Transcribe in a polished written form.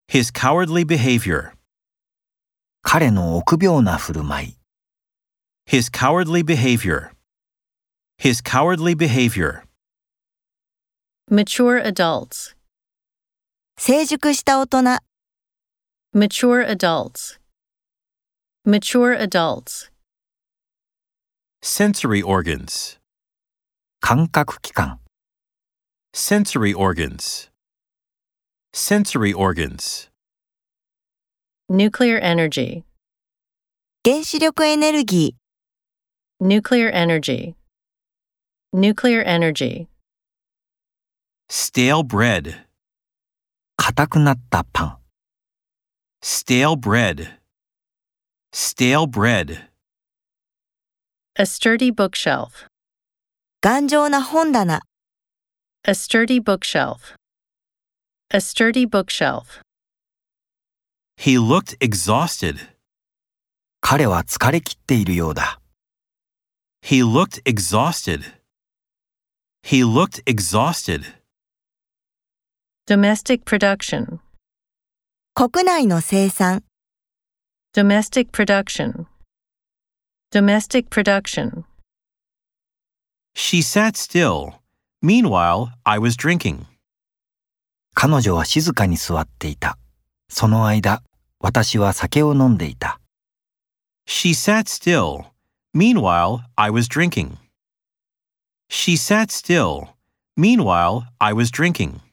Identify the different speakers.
Speaker 1: His cowardly behavior.
Speaker 2: 彼の臆病な振る舞い。
Speaker 1: His cowardly behavior. His cowardly behavior.
Speaker 3: Mature adults.
Speaker 4: 成熟した大人。
Speaker 3: Mature adults. Mature adults.
Speaker 1: Sensory organs.
Speaker 2: 感覚器官。
Speaker 1: Sensory organs. Sensory organs.
Speaker 3: Nuclear energy.
Speaker 4: 原子力エネルギー。
Speaker 3: Nuclear energy. Nuclear energy.
Speaker 1: Stale bread.
Speaker 2: 硬くなったパン。
Speaker 1: Stale bread. Stale bread.
Speaker 3: A sturdy bookshelf.
Speaker 4: 頑丈な本棚。
Speaker 3: A sturdy bookshelf. A sturdy bookshelf.
Speaker 1: He looked exhausted.
Speaker 2: 彼は疲れ切っているようだ。
Speaker 1: He looked exhausted. He looked exhausted.
Speaker 3: Domestic production.
Speaker 4: 国内の生産。
Speaker 3: Domestic production. Domestic production.
Speaker 1: She sat still. Meanwhile, I was drinking.
Speaker 2: 彼女は静かに座っていた。その間、私は酒を飲んでいた。
Speaker 1: She sat still. Meanwhile, I was drinking. She sat still. Meanwhile, I was drinking.